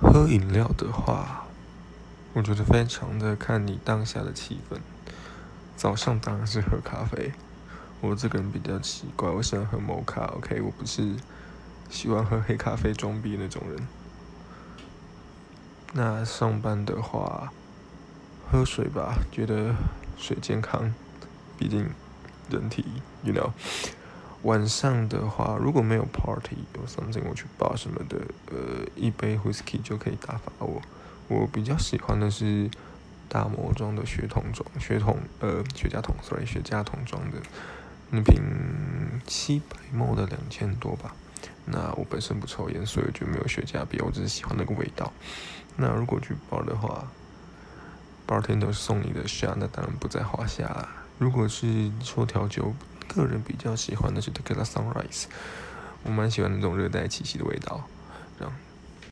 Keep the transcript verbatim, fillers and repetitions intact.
喝饮料的话，我觉得非常的看你当下的气氛。早上当然是喝咖啡，我这个人比较奇怪，我喜欢喝摩卡，OK，我不是喜欢喝黑咖啡装逼那种人。那上班的话，喝水吧，觉得水健康，毕竟人体，you know。晚上的话，如果没有 party 有 something 我去 bar 什么的，呃，一杯 whisky 就可以打发我。我比较喜欢的是大魔庄的雪桶装，雪桶呃雪茄桶，sorry 雪茄桶装的那瓶七百 ml 的两千多吧。那我本身不抽烟，所以我就没有雪茄必要，我只是喜欢那个味道。那如果去 bar 的话，bartender 送你的 shot 那当然不在话下啦。如果是说调酒，个人比较喜欢的是 Tequila Sunrise，我蛮喜欢那种热带气息的味道。这样，